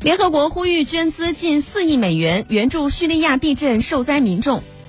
联合国呼吁捐资近4亿美元援助叙利亚地震受灾民众。